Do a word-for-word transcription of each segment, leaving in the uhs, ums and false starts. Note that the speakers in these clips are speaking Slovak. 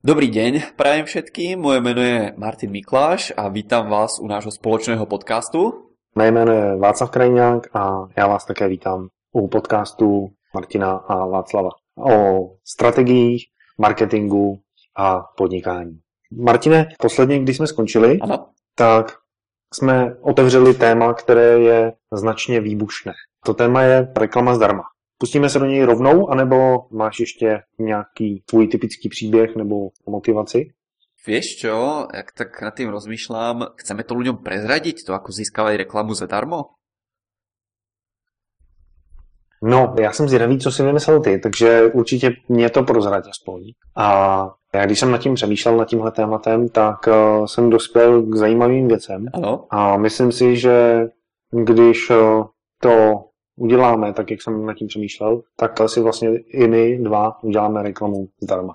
Dobrý deň, prajem všetkým, moje meno je Martin Mikláš a vítam vás u nášho spoločného podcastu. Mé jméno je Václav Krajňák a já vás také vítám u podcastu Martina a Václava o strategiích, marketingu a podnikání. Martine, posledně, když jsme skončili, ano. tak jsme otevřeli téma, které je značně výbušné. To téma je reklama zdarma. Pustíme se do něj rovnou, anebo máš ještě nějaký tvůj typický příběh nebo motivaci? Vieš čo, jak tak nad tým rozmýšľam, chceme to ľuďom prezradiť, to ako získavať reklamu zadarmo? No, já jsem zvědavý, co si vymyslel ty, takže určitě mě to prozrať aspoň. A já když jsem nad tím přemýšlel, nad tímhle tématem, tak uh, jsem dospěl k zajímavým věcem. Ano. A myslím si, že když uh, to uděláme, tak jak jsem nad tím přemýšlel, tak si vlastně i my dva uděláme reklamu zdarma.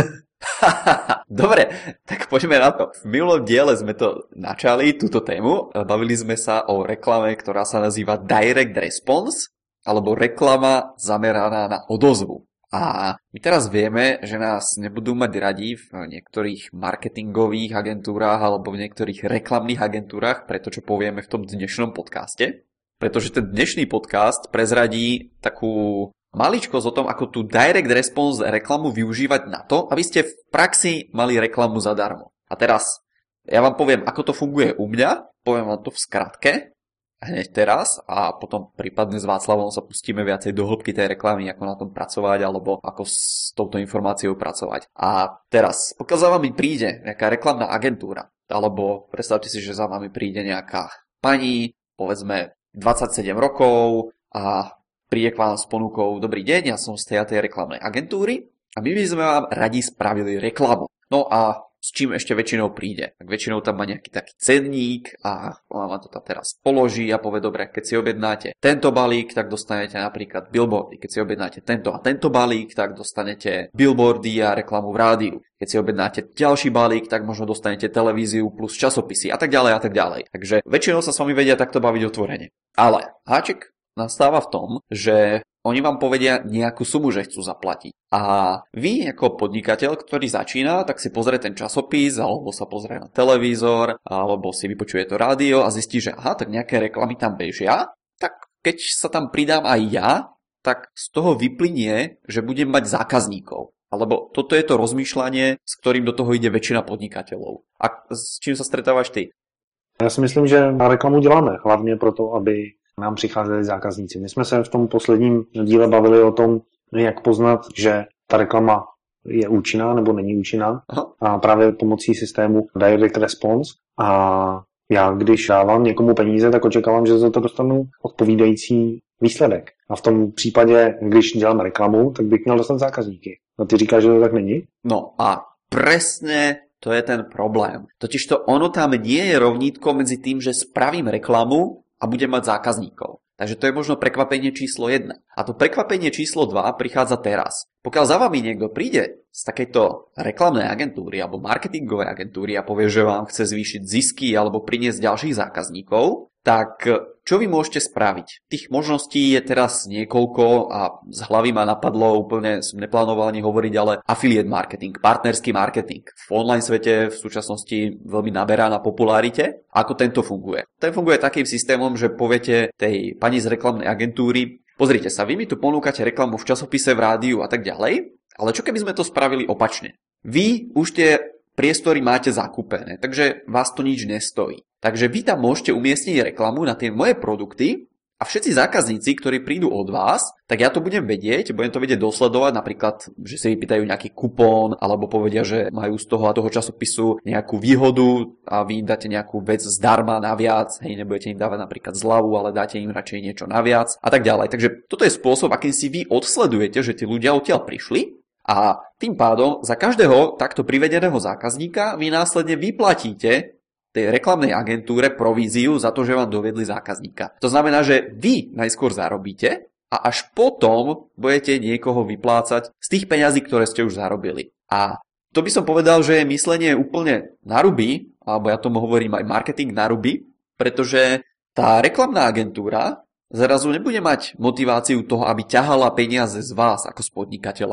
Dobre, tak poďme na to. V minulom diele sme to načali, túto tému. Bavili sme sa o reklame, ktorá sa nazýva Direct Response, alebo reklama zameraná na odozvu. A my teraz vieme, že nás nebudú mať radi v niektorých marketingových agentúrách alebo v niektorých reklamných agentúrach, preto čo povieme v tom dnešnom podcaste. Pretože ten dnešný podcast prezradí takú maličkosť o tom, ako tú direct response reklamu využívať na to, aby ste v praxi mali reklamu zadarmo. A teraz ja vám poviem, ako to funguje u mňa, poviem vám to v skratke, hneď teraz a potom prípadne s Václavom sa pustíme viacej do hĺbky tej reklamy, ako na tom pracovať alebo ako s touto informáciou pracovať. A teraz, pokiaľ za vami príde nejaká reklamná agentúra, alebo predstavte si, že za vami príde nejaká pani, povedzme dvadsaťsedem rokov a príde k vám s ponukou: dobrý deň, ja som z tej, tej reklamnej agentúry a my by sme vám radi spravili reklamu. No a s čím ešte väčšinou príde? Tak väčšinou tam má nejaký taký cenník a vám to tam teraz položí a povie: dobre, keď si objednáte tento balík, tak dostanete napríklad billboardy. Keď si objednáte tento a tento balík, tak dostanete billboardy a reklamu v rádiu. Keď si objednáte ďalší balík, tak možno dostanete televíziu plus časopisy a tak ďalej a tak ďalej. Takže väčšinou sa s vami vedia takto baviť otvorene. Ale háček nastáva v tom, že oni vám povedia nejakú sumu, že chcú zaplatiť. A vy ako podnikateľ, ktorý začína, tak si pozrie ten časopis, alebo sa pozrie na televízor, alebo si vypočuje to rádio a zistí, že aha, tak nejaké reklamy tam bežia, tak keď sa tam pridám aj ja, tak z toho vyplynie, že budem mať zákazníkov. Alebo toto je to rozmýšľanie, s ktorým do toho ide väčšina podnikateľov. A s čím sa stretávaš ty? Já si myslím, že na reklamu děláme hlavně proto, aby nám přicházeli zákazníci. My jsme se v tom posledním díle bavili o tom, jak poznat, že ta reklama je účinná nebo není účinná. Aha. A právě pomocí systému Direct Response. A já, když dávám někomu peníze, tak očekávám, že za to dostanu odpovídající výsledek. A v tom případě, když dělám reklamu, tak bych měl dostat zákazníky. A ty říkáš, že to tak není? No a presne to je ten problém. Totižto ono tam nie je rovnítko medzi tým, že spravím reklamu a budem mať zákazníkov. Takže to je možno prekvapenie číslo jedna. A to prekvapenie číslo dva prichádza teraz. Pokiaľ za vami niekto príde z takejto reklamnej agentúry alebo marketingovej agentúry a povie, že vám chce zvýšiť zisky alebo priniesť ďalších zákazníkov, tak čo vy môžete spraviť? Tých možností je teraz niekoľko a z hlavy ma napadlo, úplne som neplánoval ani hovoriť, ale affiliate marketing, partnerský marketing. V online svete v súčasnosti veľmi naberá na popularite. Ako tento funguje? Ten funguje takým systémom, že poviete tej pani z reklamnej agentúry: pozrite sa, vy mi tu ponúkate reklamu v časopise, v rádiu a tak ďalej, ale čo keby sme to spravili opačne? Vy už tie priestory máte zakúpené, takže vás to nič nestojí. Takže vy tam môžete umiestniť reklamu na tie moje produkty a všetci zákazníci, ktorí prídu od vás, tak ja to budem vedieť, budem to vedieť dosledovať, napríklad, že si vypýtajú nejaký kupón, alebo povedia, že majú z toho a toho časopisu nejakú výhodu a vy im dáte nejakú vec zdarma naviac, hej, nebudete im dávať napríklad zľavu, ale dáte im radšej niečo naviac a tak ďalej. Takže toto je spôsob, akým si vy odsledujete, že tí ľudia odtiaľ prišli. A tým pádom za každého takto privedeného zákazníka vy následne vyplatíte tej reklamnej agentúre províziu za to, že vám dovedli zákazníka. To znamená, že vy najskôr zarobíte a až potom budete niekoho vyplácať z tých peňazí, ktoré ste už zarobili. A to by som povedal, že je myslenie úplne na ruby, alebo ja tomu hovorím aj marketing na ruby, pretože tá reklamná agentúra zrazu nebude mať motiváciu toho, aby ťahala peniaze z vás ako z podnikateľa,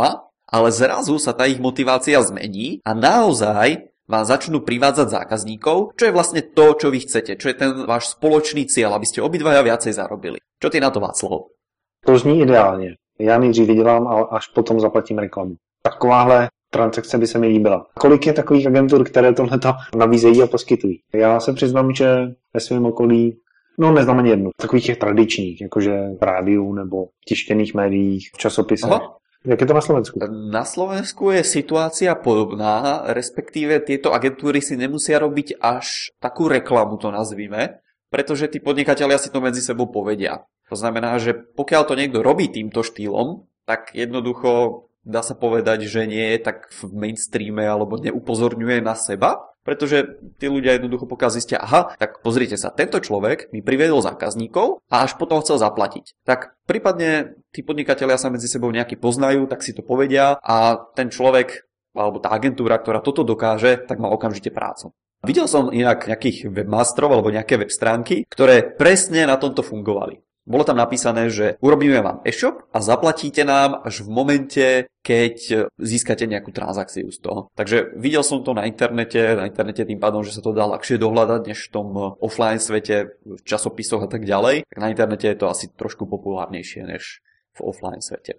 ale zrazu sa tá ich motivácia zmení a naozaj vám začnú privádzať zákazníkov, čo je vlastne to, čo vy chcete, čo je ten váš spoločný cieľ, aby ste obidvaja viacej zarobili. Čo ty na to, Václav? To zní ideálně. Já nejdřív vydělám a až potom zaplatím reklamu. Takováhle transakce by se mi líbila. Kolik je takových agentur, které tohleto nabízejí a poskytují? Já se přiznám, že ve svém okolí, no neznám ani jednu, takových těch tradičních, jakože v rádiu nebo v tištěných médiích, v časopisech. Aha. Jak je to na Slovensku? Na Slovensku je situácia podobná, respektíve tieto agentúry si nemusia robiť až takú reklamu, to nazvime, pretože tí podnikatelia si to medzi sebou povedia. To znamená, že pokiaľ to niekto robí týmto štýlom, tak jednoducho dá sa povedať, že nie je tak v mainstreame alebo neupozorňuje na seba, pretože tí ľudia jednoducho pokiaľ zistia, aha, tak pozrite sa, tento človek mi priviedol zákazníkov a až potom chcel zaplatiť. Tak prípadne tí podnikatelia sa medzi sebou nejaký poznajú, tak si to povedia a ten človek alebo tá agentúra, ktorá toto dokáže, tak má okamžite prácu. Videl som inak nejakých webmasterov alebo nejaké web stránky, ktoré presne na tomto fungovali. Bolo tam napísané, že urobíme vám e-shop a zaplatíte nám až v momente, keď získate nejakú transakciu z toho. Takže videl som to na internete, na internete tým pádom, že sa to dá ľahšie dohľadať než v tom offline svete, v časopisoch a tak ďalej. Tak na internete je to asi trošku populárnejšie než v offline svete.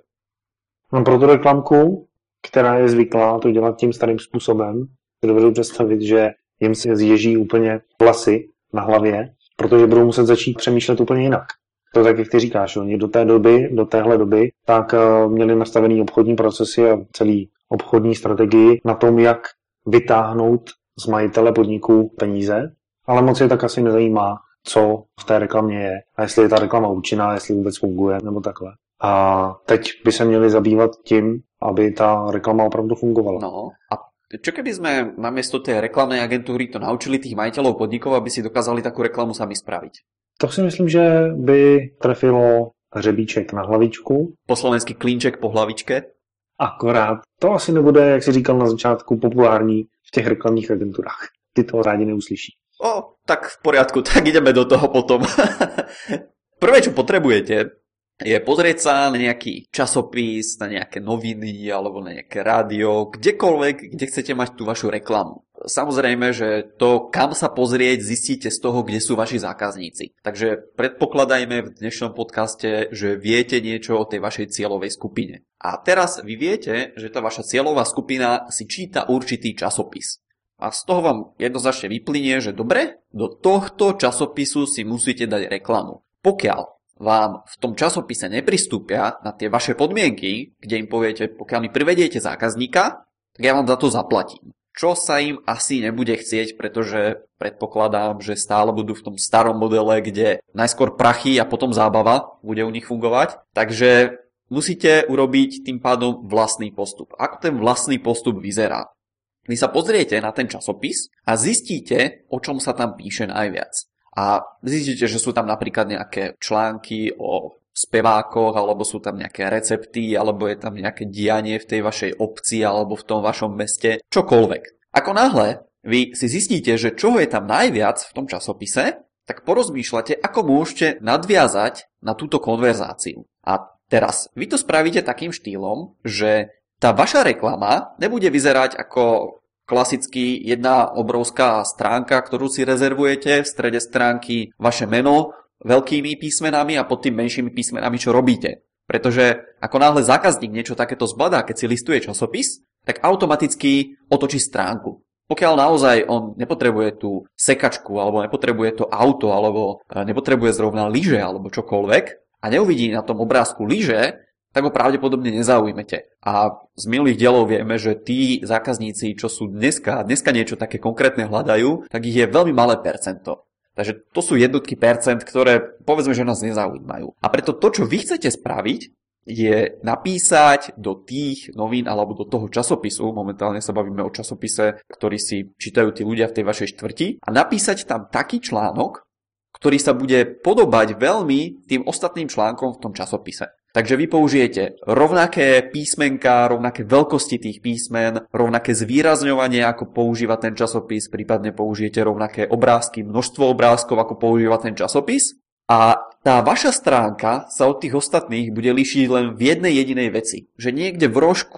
No pro tu reklamku, která je zvyklá to dělat tím starým způsobem, si dovedu představit, že jim se zježí úplně vlasy na hlavě, protože budou muset začít přemýšlet úplně jinak. To tak, jak ty říkáš, oni do té doby, do téhle doby, tak uh, měli nastavený obchodní procesy a celý obchodní strategii na tom, jak vytáhnout z majitele podniku peníze, ale moc je tak asi nezajímá, co v té reklamě je a jestli je ta reklama účinná, jestli vůbec funguje nebo takhle. A teď by se měli zabývat tím, aby ta reklama opravdu fungovala. No a čo keby sme namiesto tej reklamnej agentúry to naučili tých majiteľov podnikov, aby si dokázali takú reklamu sami spraviť? To si myslím, že by trefilo hřebíček na hlavičku. Po slovensky klínček po hlavičke. Akorát. To asi nebude, jak si říkal na začátku, populární v těch reklamních agenturách. Ty to rádi neuslyší. O, tak v poriadku, tak ideme do toho potom. Prvé, čo potrebujete, je pozrieť sa na nejaký časopis, na nejaké noviny alebo na nejaké rádio, kdekoľvek, kde chcete mať tú vašu reklamu. Samozrejme, že to, kam sa pozrieť, zistíte z toho, kde sú vaši zákazníci. Takže predpokladajme v dnešnom podcaste, že viete niečo o tej vašej cieľovej skupine. A teraz vy viete, že tá vaša cieľová skupina si číta určitý časopis. A z toho vám jednoznačne vyplynie, že dobre, do tohto časopisu si musíte dať reklamu. Pokiaľ vám v tom časopise nepristúpia na tie vaše podmienky, kde im poviete, pokiaľ mi privediete zákazníka, tak ja vám za to zaplatím. Čo sa im asi nebude chcieť, pretože predpokladám, že stále budú v tom starom modele, kde najskôr prachy a potom zábava bude u nich fungovať. Takže musíte urobiť tým pádom vlastný postup. Ako ten vlastný postup vyzerá? Vy sa pozriete na ten časopis a zistíte, o čom sa tam píše najviac. A zistíte, že sú tam napríklad nejaké články o spevákoch, alebo sú tam nejaké recepty, alebo je tam nejaké dianie v tej vašej obci, alebo v tom vašom meste, čokoľvek. Ako náhle vy si zistíte, že čoho je tam najviac v tom časopise, tak porozmýšľate, ako môžete nadviazať na túto konverzáciu. A teraz vy to spravíte takým štýlom, že tá vaša reklama nebude vyzerať ako klasicky jedna obrovská stránka, ktorú si rezervujete, v strede stránky vaše meno veľkými písmenami a pod tým menšími písmenami, čo robíte. Pretože ako náhle zákazník niečo takéto zbadá, keď si listuje časopis, tak automaticky otočí stránku. Pokiaľ naozaj on nepotrebuje tú sekačku, alebo nepotrebuje to auto, alebo nepotrebuje zrovna lyže, alebo čokoľvek, a neuvidí na tom obrázku lyže, tak ho pravdepodobne nezaujmete. A z minulých dielov vieme, že tí zákazníci, čo sú dneska, dneska niečo také konkrétne hľadajú, tak ich je veľmi malé percento. Takže to sú jednotky percent, ktoré povedzme, že nás nezaujímajú. A preto to, čo vy chcete spraviť, je napísať do tých novín alebo do toho časopisu, momentálne sa bavíme o časopise, ktorý si čítajú tí ľudia v tej vašej štvrti, a napísať tam taký článok, ktorý sa bude podobať veľmi tým ostatným článkom v tom časopise. Takže vy použijete rovnaké písmenka, rovnaké veľkosti tých písmen, rovnaké zvýrazňovanie, ako používa ten časopis, prípadne použijete rovnaké obrázky, množstvo obrázkov, ako používa ten časopis. A tá vaša stránka sa od tých ostatných bude líšiť len v jednej jedinej veci. Že niekde v rožku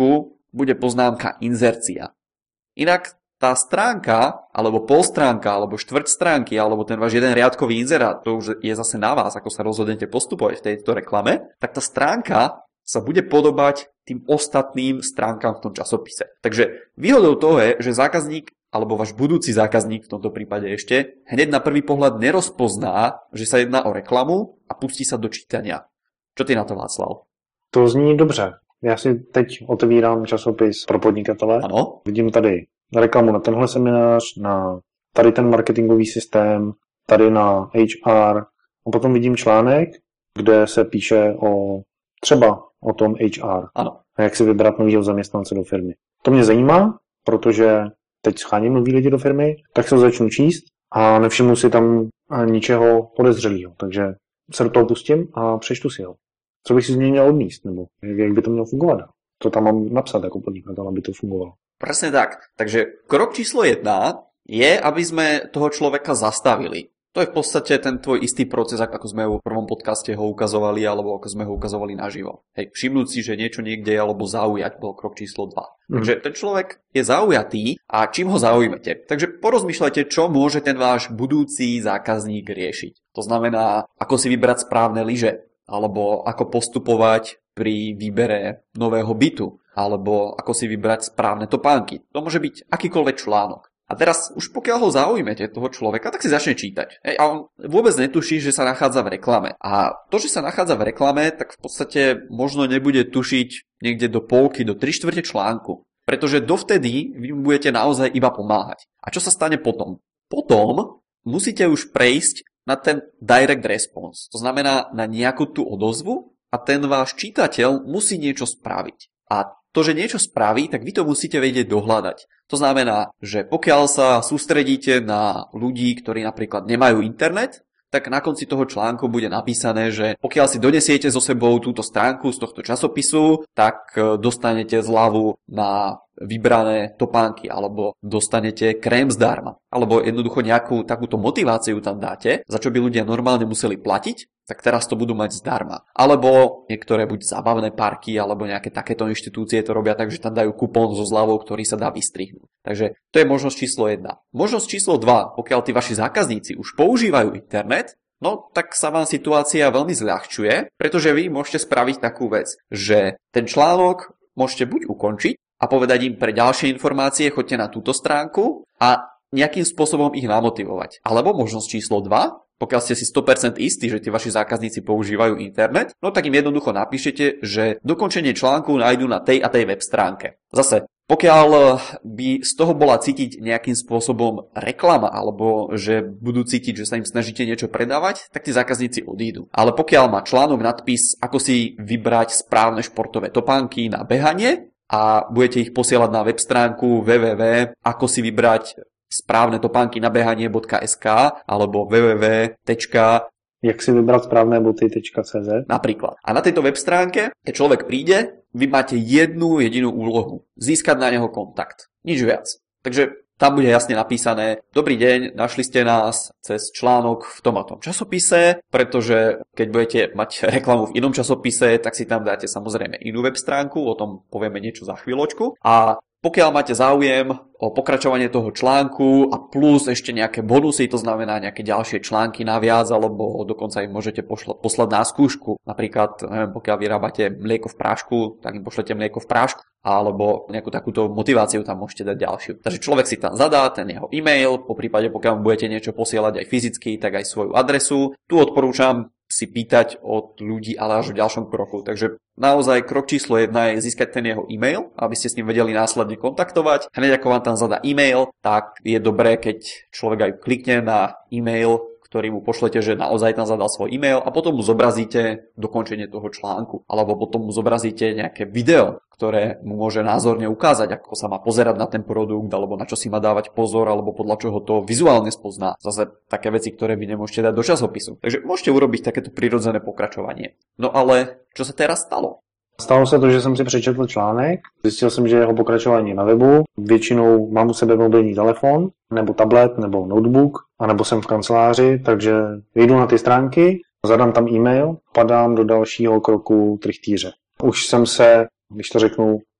bude poznámka inzercia. Inak tá stránka, alebo polstránka, alebo štvrť stránky, alebo ten váš jeden riadkový inzerát, to už je zase na vás, ako sa rozhodnete postupovať v tejto reklame, tak tá stránka sa bude podobať tým ostatným stránkam v tom časopise. Takže výhodou toho je, že zákazník, alebo váš budúci zákazník v tomto prípade ešte, hneď na prvý pohľad nerozpozná, že sa jedná o reklamu a pustí sa do čítania. Čo ty na to, Václav? To zní dobře. Já si teď otevírám časopis pro podnikatele. Ano. Vidím tady reklamu na tenhle seminář, na tady ten marketingový systém, tady na H R a potom vidím článek, kde se píše o třeba o tom H R. Ano. A jak si vybrat nového zaměstnance do firmy. To mě zajímá, protože teď scháním nový lidi do firmy, tak se začnu číst a nevšimnu si tam ničeho podezřelého. Takže se do toho pustím a přečtu si ho. Co bych si z něj měl odníst, nebo jak by to mělo fungovat? Co tam mám napsat jako podnikatel, aby to fungovalo? Presne tak. Takže krok číslo jedna je, aby sme toho človeka zastavili. To je v podstate ten tvoj istý proces, ako sme v prvom podcaste ho ukazovali, alebo ako sme ho ukazovali naživo. Hej, všimnúť si, že niečo niekde je, alebo zaujať, bol krok číslo dva. Mm. Takže ten človek je zaujatý a čím ho zaujmete. Takže porozmýšľajte, čo môže ten váš budúci zákazník riešiť. To znamená, ako si vybrať správne lyže, alebo ako postupovať pri výbere nového bytu, alebo ako si vybrať správne topánky. To môže byť akýkoľvek článok. A teraz už pokiaľ ho zaujmete, toho človeka, tak si začne čítať. Hej, a on vôbec netuší, že sa nachádza v reklame. A to, že sa nachádza v reklame, tak v podstate možno nebude tušiť niekde do polky, do tri štvrte článku. Pretože dovtedy vy mu budete naozaj iba pomáhať. A čo sa stane potom? Potom musíte už prejsť na ten direct response. To znamená na nejakú tú odozvu a ten váš čitateľ musí niečo spraviť. A to, že niečo spraví, tak vy to musíte vedieť dohľadať. To znamená, že pokiaľ sa sústredíte na ľudí, ktorí napríklad nemajú internet, tak na konci toho článku bude napísané, že pokiaľ si donesiete so sebou túto stránku z tohto časopisu, tak dostanete zľavu na vybrané topánky, alebo dostanete krém zdarma, alebo jednoducho nejakú takúto motiváciu tam dáte, za čo by ľudia normálne museli platiť, tak teraz to budú mať zdarma. Alebo niektoré buď zábavné parky, alebo nejaké takéto inštitúcie to robia tak, že tam dajú kupón so zľavou, ktorý sa dá vystrihnúť. Takže to je možnosť číslo jedna. Možnosť číslo dva, pokiaľ tí vaši zákazníci už používajú internet, no tak sa vám situácia veľmi zľahčuje, pretože vy môžete spraviť takú vec, že ten článok môžete buď ukončiť a povedať im pre ďalšie informácie choďte na túto stránku a nejakým spôsobom ich namotivovať. Alebo možnosť číslo dva, pokiaľ ste si sto percent istí, že tí vaši zákazníci používajú internet, no tak im jednoducho napíšete, že dokončenie článku nájdu na tej a tej web stránke. Zase, pokiaľ by z toho bola cítiť nejakým spôsobom reklama, alebo že budú cítiť, že sa im snažíte niečo predávať, tak tí zákazníci odídu. Ale pokiaľ má článok nadpis, ako si vybrať správne športové topánky na behanie, a budete ich posielať na web stránku w w w bodka ako si vybrať správne topánky na behanie bodka es ká alebo w w w bodka jak si vybrať správne boty bodka c z napríklad. A na tejto web stránke, keď človek príde, vy máte jednu jedinú úlohu. Získať na neho kontakt. Nič viac. Takže tam bude jasne napísané: dobrý deň, našli ste nás cez článok v tom a tom časopise, pretože keď budete mať reklamu v inom časopise, tak si tam dáte samozrejme inú web stránku, o tom povieme niečo za chvíľočku. A pokiaľ máte záujem o pokračovanie toho článku a plus ešte nejaké bonusy, to znamená nejaké ďalšie články naviac, alebo dokonca im môžete pošla- poslať na skúšku. Napríklad, neviem, pokiaľ vyrábate mlieko v prášku, tak im pošlete mlieko v prášku, alebo nejakú takúto motiváciu tam môžete dať ďalšiu. Takže človek si tam zadá ten jeho e-mail, po prípade pokiaľ budete niečo posielať aj fyzicky, tak aj svoju adresu. Tu odporúčam si pýtať od ľudí, ale až v ďalšom kroku. Takže naozaj krok číslo jedna je získať ten jeho e-mail, aby ste s ním vedeli následne kontaktovať. Hneď ako vám tam zadá e-mail, tak je dobré, keď človek aj klikne na e-mail, ktorý mu pošlete, že naozaj tam zadal svoj e-mail a potom mu zobrazíte dokončenie toho článku. Alebo potom mu zobrazíte nejaké video, ktoré mu môže názorne ukázať, ako sa má pozerať na ten produkt, alebo na čo si má dávať pozor, alebo podľa čoho to vizuálne spozná. Zase také veci, ktoré vy nemôžete dať do časopisu. Takže môžete urobiť takéto prirodzené pokračovanie. No ale čo sa teraz stalo? Stalo se to, že jsem si přečetl článek, zjistil jsem, že jeho pokračování na webu, většinou mám u sebe mobilní telefon, nebo tablet, nebo notebook, anebo jsem v kanceláři, takže jdu na ty stránky, zadám tam e-mail, padám do dalšího kroku trichtýře. Už jsem se, když to řeknu,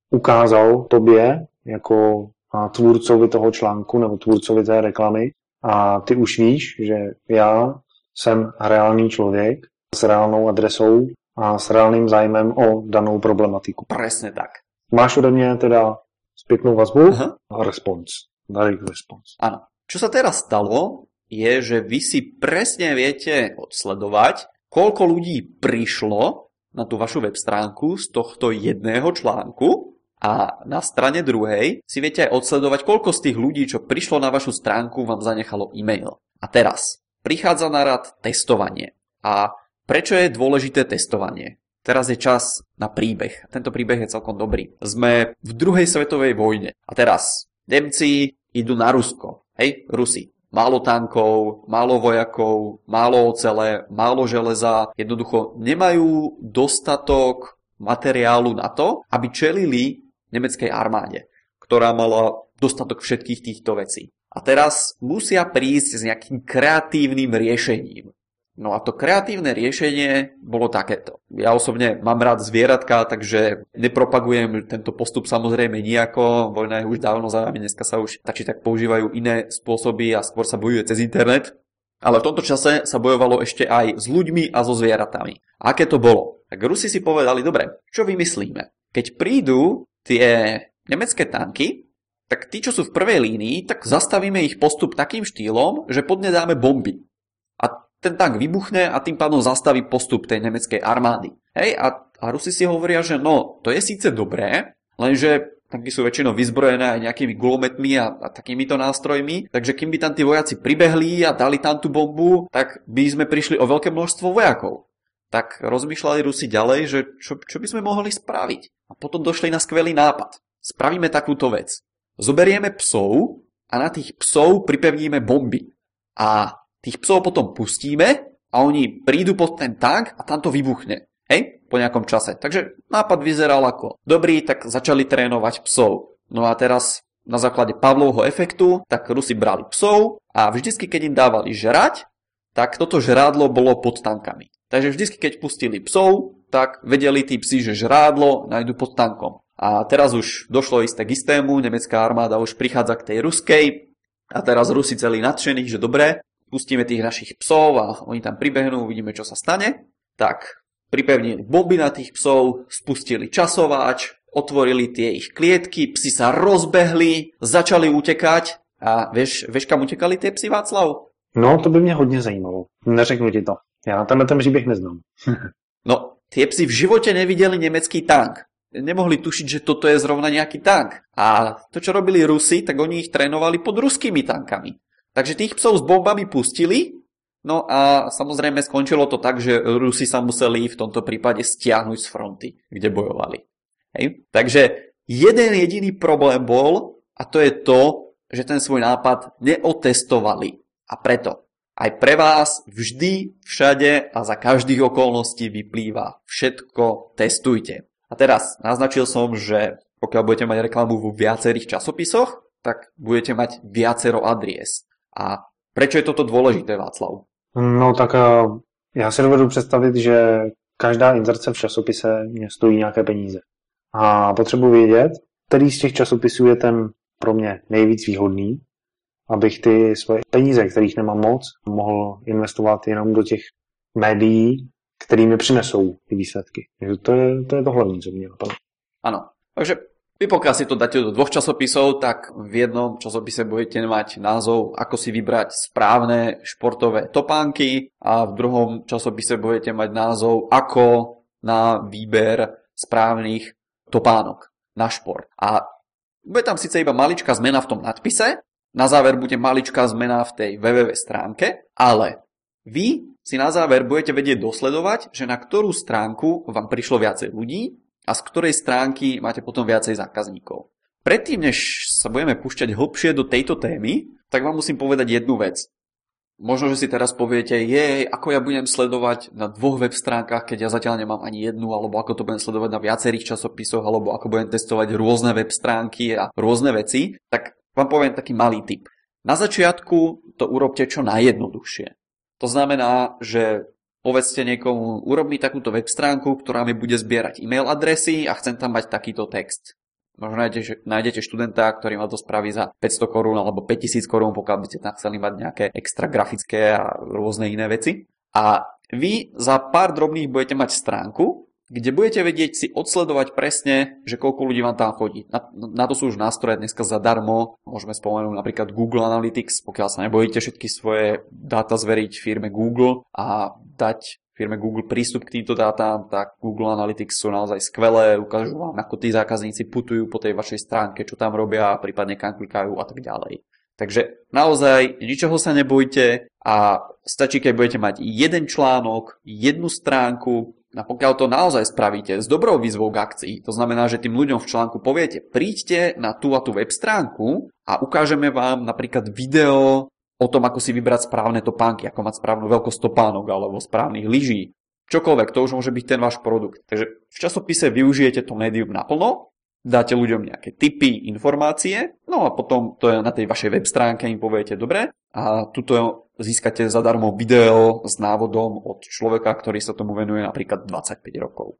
ukázal tobě jako tvůrcovi toho článku nebo tvůrcovi té reklamy a ty už víš, že já jsem reálný člověk s reálnou adresou a s reálným zájmem o danou problematiku. Presne tak. Máš ode mě teda zpětnou vazbu Aha. a response. Direct response. Áno. Čo sa teraz stalo, je, že vy si presne viete odsledovať, koľko ľudí prišlo na tú vašu web stránku z tohto jedného článku a na strane druhej si viete aj odsledovať, koľko z tých ľudí, čo prišlo na vašu stránku, vám zanechalo e-mail. A teraz prichádza na rad testovanie. A prečo je dôležité testovanie? Teraz je čas na príbeh. Tento príbeh je celkom dobrý. Sme v druhej svetovej vojne. A teraz Nemci idú na Rusko. Hej, Rusi. Málo tankov, málo vojakov, málo ocele, málo železa. Jednoducho nemajú dostatok materiálu na to, aby čelili nemeckej armáde, ktorá mala dostatok všetkých týchto vecí. A teraz musia prísť s nejakým kreatívnym riešením. No a to kreatívne riešenie bolo takéto. Ja osobne mám rád zvieratka, takže nepropagujem tento postup samozrejme nijako. Vojna je už dávno za nami, dneska sa už tak či tak používajú iné spôsoby a skôr sa bojuje cez internet. Ale v tomto čase sa bojovalo ešte aj s ľuďmi a so zvieratami. A aké to bolo? Tak Rusi si povedali, dobre, čo vymyslíme? Keď prídu tie nemecké tanky, tak tí, čo sú v prvej línii, tak zastavíme ich postup takým štýlom, že pod ne dáme bomby. A ten tank vybuchne a tým pádom zastaví postup tej nemeckej armády. Hej, a, a Rusi si hovoria, že no, to je síce dobré, lenže tanky sú väčšinou vyzbrojené aj nejakými gulometmi a, a takýmito nástrojmi, takže kým by tam tí vojaci pribehli a dali tam tú bombu, tak by sme prišli o veľké množstvo vojakov. Tak rozmýšľali Rusi ďalej, že čo, čo by sme mohli spraviť. A potom došli na skvelý nápad. Spravíme takúto vec. Zoberieme psov a na tých psov pripevníme bomby. A tých psov potom pustíme a oni prídu pod ten tank a tam to vybuchne. Hej? Po nejakom čase. Takže nápad vyzeral ako dobrý, tak začali trénovať psov. No a teraz na základe Pavlovho efektu, tak Rusi brali psov a vždycky, keď im dávali žrať, tak toto žrádlo bolo pod tankami. Takže vždycky, keď pustili psov, tak vedeli tí psi, že žrádlo nájdu pod tankom. A teraz už došlo isté k istému, nemecká armáda už prichádza k tej ruskej a teraz Rusi celí nadšení, že dobre, pustíme tých našich psov a oni tam pribehnú, uvidíme, čo sa stane. Tak pripevnili bomby na tých psov, spustili časovač, otvorili tie ich klietky, psi sa rozbehli, začali utekať. A vieš, vieš kam utekali tie psi, Václav? No, to by mě hodně zajímalo. Neřeknu ti to. Já tenhle ten příběh neznám. No, tie psi v živote nevideli nemecký tank. Nemohli tušiť, že toto je zrovna nejaký tank. A to, čo robili Rusi, tak oni ich trénovali pod ruskými tankami. Takže tých psov s bombami pustili, no a samozrejme skončilo to tak, že Rusi sa museli v tomto prípade stiahnuť z fronty, kde bojovali. Hej? Takže jeden jediný problém bol, a to je to, že ten svoj nápad neotestovali. A preto aj pre vás vždy, všade a za každých okolností vyplýva všetko testujte. A teraz naznačil som, že pokiaľ budete mať reklamu vo viacerých časopisoch, tak budete mať viacero adries. A prečo je toto dôležité, Václav? No tak já si dovedu představit, že každá inzerce v časopise mě stojí nějaké peníze. A potřebuji vědět, který z těch časopisů je ten pro mě nejvíc výhodný, abych ty svoje peníze, kterých nemám moc, mohl investovat jenom do těch médií, který mi přinesou ty výsledky. To je to, je to hlavní, co mě napadlo. Áno, takže vy pokiaľ si to dáte do dvoch časopisov, tak v jednom časopise budete mať názov, ako si vybrať správne športové topánky a v druhom časopise budete mať názov, ako na výber správnych topánok na šport. A bude tam síce iba maličká zmena v tom nadpise, na záver bude maličká zmena v tej www stránke, ale vy si na záver budete vedieť dosledovať, že na ktorú stránku vám prišlo viacej ľudí a z ktorej stránky máte potom viacej zákazníkov. Predtým, než sa budeme púšťať hlbšie do tejto témy, tak vám musím povedať jednu vec. Možno, že si teraz poviete, jej, ako ja budem sledovať na dvoch web stránkach, keď ja zatiaľ nemám ani jednu, alebo ako to budem sledovať na viacerých časopisoch, alebo ako budem testovať rôzne web stránky a rôzne veci, tak vám poviem taký malý tip. Na začiatku to urobte čo najjednoduchšie. To znamená, že povedzte niekomu, urob mi takúto web stránku, ktorá mi bude zbierať e-mail adresy a chcem tam mať takýto text. Možno nájdete, nájdete študenta, ktorý ma to spraví za päťsto korún alebo päťtisíc korún, pokiaľ by ste tam chceli mať nejaké extra grafické a rôzne iné veci. A vy za pár drobných budete mať stránku, kde budete vedieť si odsledovať presne, že koľko ľudí vám tam chodí. Na, na to sú už nástroje dneska zadarmo. Môžeme spomenúť napríklad Google Analytics, pokiaľ sa nebojíte všetky svoje dáta zveriť firme Google a dať firme Google prístup k týmto dátam, tak Google Analytics sú naozaj skvelé, ukážu vám, ako tí zákazníci putujú po tej vašej stránke, čo tam robia, prípadne kam klikajú a tak ďalej. Takže naozaj ničoho sa nebojte a stačí, keď budete mať jeden článok, jednu stránku, a pokiaľ to naozaj spravíte s dobrou výzvou k akcii, to znamená, že tým ľuďom v článku poviete, príďte na tú a tú web stránku a ukážeme vám napríklad video o tom, ako si vybrať správne topánky, ako mať správnu veľkosť topánok alebo správnych lyží. Čokoľvek, to už môže byť ten váš produkt. Takže v časopise využijete to médium naplno, dáte ľuďom nejaké tipy, informácie, no a potom to je na tej vašej web stránke, im poviete, dobre, a tuto získate zadarmo video s návodom od človeka, ktorý sa tomu venuje napríklad dvadsaťpäť rokov.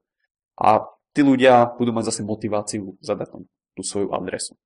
A tí ľudia budú mať zase motiváciu zadať tam tú svoju adresu.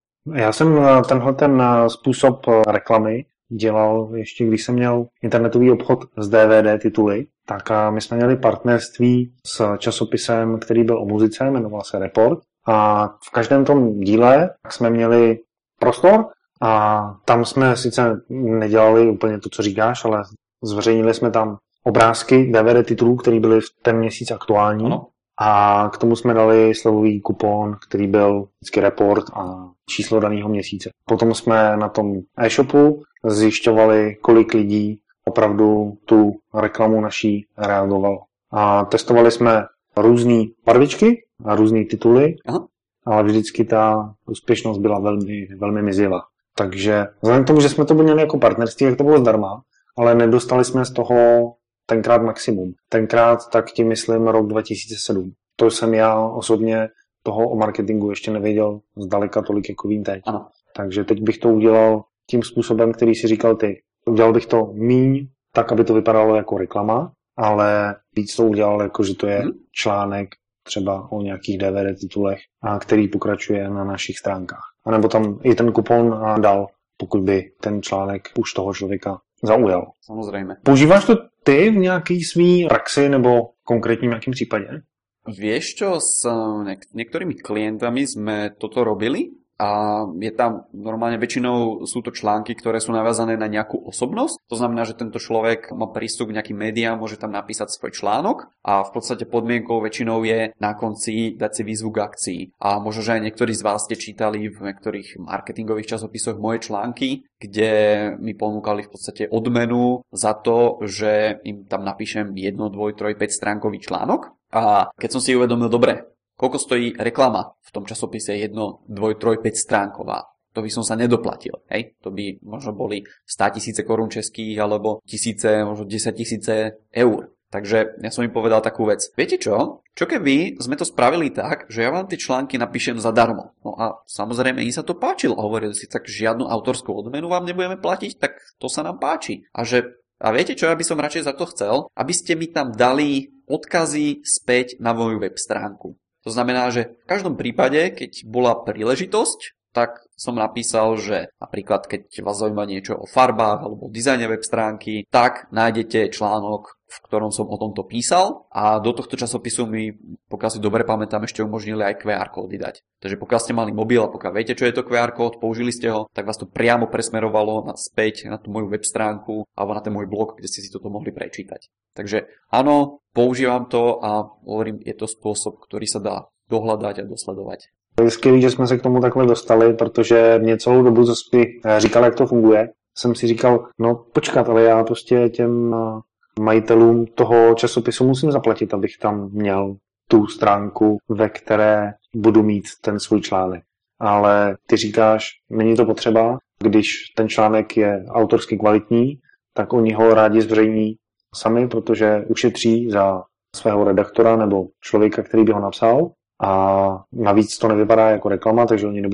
Já jsem tenhle ten způsob reklamy dělal ještě, když jsem měl internetový obchod s D V D tituly, tak my jsme měli partnerství s časopisem, který byl o muzice, jmenoval se Report. A v každém tom díle jsme měli prostor a tam jsme sice nedělali úplně to, co říkáš, ale zveřejnili jsme tam obrázky D V D titulů, které byly v ten měsíc aktuální. Ano. A k tomu jsme dali slevový kupon, který byl vždycky Report a číslo daného měsíce. Potom jsme na tom e-shopu zjišťovali, kolik lidí opravdu tu reklamu naší reagovalo. A testovali jsme různé barvičky a různé tituly, aha, ale vždycky ta úspěšnost byla velmi, velmi mizivá. Takže vzhledem k tomu, že jsme to měli jako partnerství, tak to bylo zdarma, ale nedostali jsme z toho tenkrát maximum. Tenkrát tak tím myslím rok dva tisíce sedm. To jsem já osobně toho o marketingu ještě nevěděl zdaleka tolik, jako vím teď. Ano. Takže teď bych to udělal tím způsobem, který si říkal ty. Udělal bych to míň, tak, aby to vypadalo jako reklama, ale víc to udělal jako, že to je hmm. článek třeba o nějakých D V D titulech, a který pokračuje na našich stránkách. A nebo tam i ten kupon dal, pokud by ten článek už toho člověka zaujal. Samozrejme. Používáš to ty v nějaký svý praxi nebo konkrétním nějakým případě? Vieš čo, s niek- niektorými klientami sme toto robili a je tam normálne väčšinou sú to články, ktoré sú naviazané na nejakú osobnosť. To znamená, že tento človek má prístup k nejakým médiám, môže tam napísať svoj článok a v podstate podmienkou väčšinou je na konci dať si výzvu k akcii. A možno, že aj niektorí z vás ste čítali v niektorých marketingových časopisoch moje články, kde mi ponúkali v podstate odmenu za to, že im tam napíšem jedno, dvoj, troj, päť stránkový článok. A keď som si uvedomil, dobre, koľko stojí reklama v tom časopise jedno, dvoj, troj, päť stránková, to by som sa nedoplatil, hej? To by možno boli státisíce korún českých alebo tisíce, možno desaťtisíce eur. Takže ja som im povedal takú vec. Viete čo? Čo keby sme to spravili tak, že ja vám tie články napíšem zadarmo? No a samozrejme im sa to páčilo. Hovorili si, tak žiadnu autorskú odmenu vám nebudeme platiť, tak to sa nám páči. A že A viete čo, ja by som radšej za to chcel, aby ste mi tam dali odkazy späť na moju web stránku. To znamená, že v každom prípade, keď bola príležitosť, tak som napísal, že napríklad keď vás zaujíma niečo o farbách alebo o dizajne web stránky, tak nájdete článok, v ktorom som o tomto písal a do tohto časopisu mi, pokiaľ si dobre pamätám, ešte umožnili aj kvé er kódy dať. Takže pokiaľ ste mali mobil a pokiaľ viete, čo je to kvé er kód, použili ste ho, tak vás to priamo presmerovalo na späť na tú moju web stránku alebo na ten môj blog, kde ste si toto mohli prečítať. Takže áno, používam to a hovorím, je to spôsob, ktorý sa dá dohľadať a dosledovať. Je skvělý, že jsme se k tomu takhle dostali, protože mě celou dobu, co jsi říkal, jak to funguje, jsem si říkal, no počkat, ale já prostě těm majitelům toho časopisu musím zaplatit, abych tam měl tu stránku, ve které budu mít ten svůj článek. Ale ty říkáš, není to potřeba, když ten článek je autorsky kvalitní, tak oni ho rádi zveřejní sami, protože ušetří za svého redaktora nebo člověka, který by ho napsal. A navíc to nevypadá jako reklama, takže oni nebudou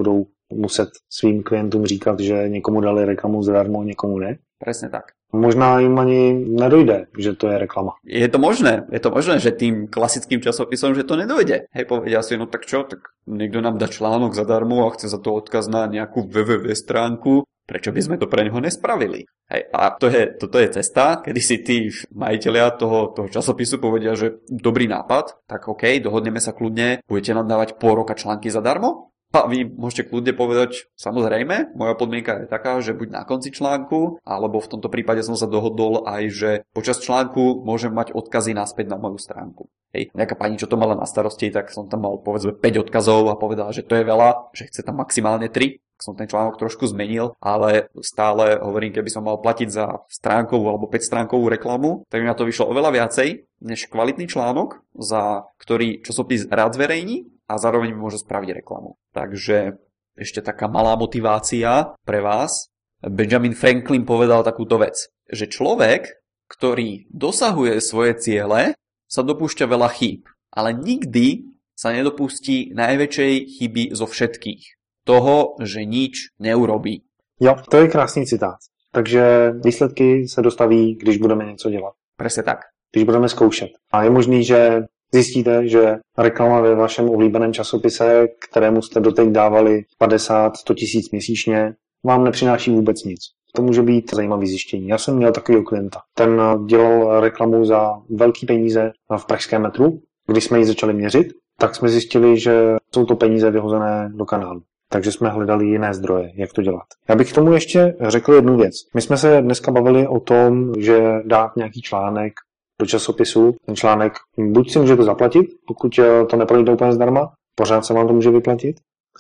muset svým klientům říkat, že někomu dali reklamu zadarmo, někomu ne. Presne tak. Možná jim ani nedojde, že to je reklama. Je to možné, je to možné, že tým klasickým časopisom, že to nedojde. Hej, povedia si, no tak čo, tak niekto nám dá článok zadarmo a chce za to odkaz na nejakú www stránku, prečo by sme to pre neho nespravili? Hej, a to je, toto je cesta, kedy si tí majitelia toho, toho časopisu povedia, že dobrý nápad, tak OK, dohodneme sa kľudne, budete nám dávať pol roka články zadarmo? A vy môžete kľudne povedať, samozrejme, moja podmienka je taká, že buď na konci článku, alebo v tomto prípade som sa dohodol aj, že počas článku môžem mať odkazy naspäť na moju stránku. Hej, nejaká pani, čo to mala na starosti, tak som tam mal povedzme päť odkazov a povedala, že to je veľa, že chce tam maximálne tri. Som ten článok trošku zmenil, ale stále hovorím, keby som mal platiť za stránkovú alebo päť stránkovú reklamu, tak mi na to vyšlo oveľa viacej než kvalitný článok, za ktorý časopis rád zverejní a zároveň mi môže spraviť reklamu. Takže ešte taká malá motivácia pre vás. Benjamin Franklin povedal takúto vec, že človek, ktorý dosahuje svoje ciele, sa dopúšťa veľa chýb, ale nikdy sa nedopustí najväčšej chyby zo všetkých. Toho, že nič neurobí. Jo, to je krásný citát. Takže výsledky se dostaví, když budeme něco dělat. Presne tak. Když budeme zkoušet. A je možný, že zjistíte, že reklama ve vašem oblíbeném časopise, kterému jste doteď dávali padesát sto tisíc měsíčně, vám nepřináší vůbec nic. To může být zajímavý zjištění. Já jsem měl takového klienta. Ten dělal reklamu za velký peníze v pražském metru. Když jsme ji začali měřit, tak jsme zjistili, že jsou to peníze vyhozené do kanálu. Takže jsme hledali jiné zdroje, jak to dělat. Já bych k tomu ještě řekl jednu věc. My jsme se dneska bavili o tom, že dát nějaký článek do časopisu. Ten článek buď si můžete zaplatit, pokud to neprojde úplně zdarma, pořád se vám to může vyplatit,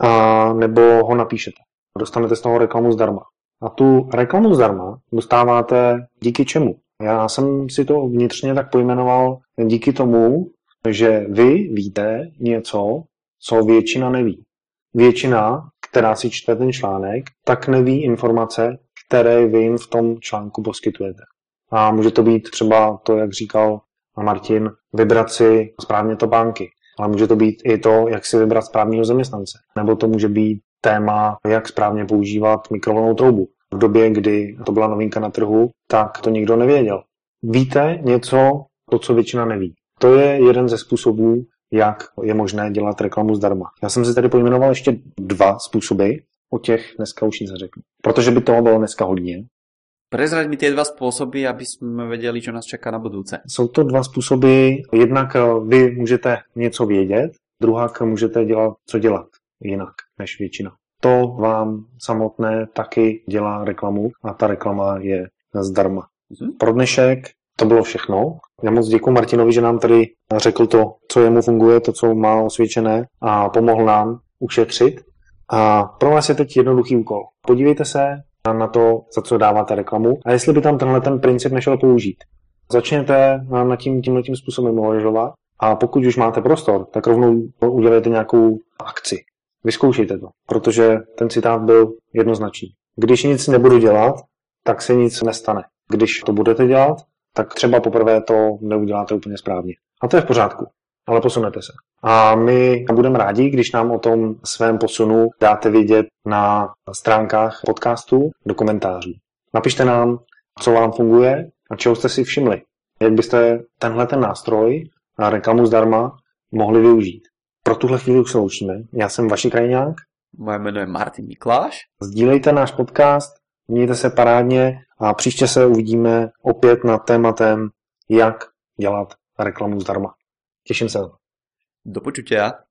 a nebo ho napíšete. Dostanete z toho reklamu zdarma. A tu reklamu zdarma dostáváte díky čemu? Já jsem si to vnitřně tak pojmenoval díky tomu, že vy víte něco, co většina neví. Většina, která si čte ten článek, tak neví informace, které vy jim v tom článku poskytujete. A může to být třeba to, jak říkal Martin, vybrat si správně topánky. Ale může to být i to, jak si vybrat správného zaměstnance. Nebo to může být téma, jak správně používat mikrovlnnou troubu. V době, kdy to byla novinka na trhu, tak to nikdo nevěděl. Víte něco, to, co většina neví. To je jeden ze způsobů, jak je možné dělat reklamu zdarma. Já jsem si tady pojmenoval ještě dva způsoby, o těch dneska už nic neřeknu. Protože by toho bylo dneska hodně. Prezraď mi tie dva spôsoby, aby sme vedeli, čo nás čaká na budúce. Jsou to dva způsoby. Jednak vy můžete něco vědět, druhak můžete dělat, co dělat jinak než většina. To vám samotné taky dělá reklamu a ta reklama je zdarma. Mhm. Pro dnešek to bylo všechno. Já moc děkuji Martinovi, že nám tady řekl to, co jemu funguje, to, co má osvědčené a pomohl nám ušetřit. A pro vás je teď jednoduchý úkol. Podívejte se na to, za co dáváte reklamu a jestli by tam tenhle ten princip nešel použít. Začněte nad tím tímhletím způsobem uvažovat a pokud už máte prostor, tak rovnou udělejte nějakou akci. Vyzkoušejte to, protože ten citát byl jednoznačný. Když nic nebudu dělat, tak se nic nestane. Když to budete dělat, tak třeba poprvé to neuděláte úplně správně. A to je v pořádku, ale posunete se. A my budeme rádi, když nám o tom svém posunu dáte vědět na stránkách podcastu do komentářů. Napište nám, co vám funguje a čeho jste si všimli. Jak byste tenhle ten nástroj a reklamu zdarma mohli využít. Pro tuhle chvíli už se loučíme. Já jsem Vaši Krajňák. Moje jméno je Martin Mikláš. Sdílejte náš podcast, mějte se parádně a příště se uvidíme opět nad tématem, jak dělat reklamu zdarma. Těším se. Do počutia.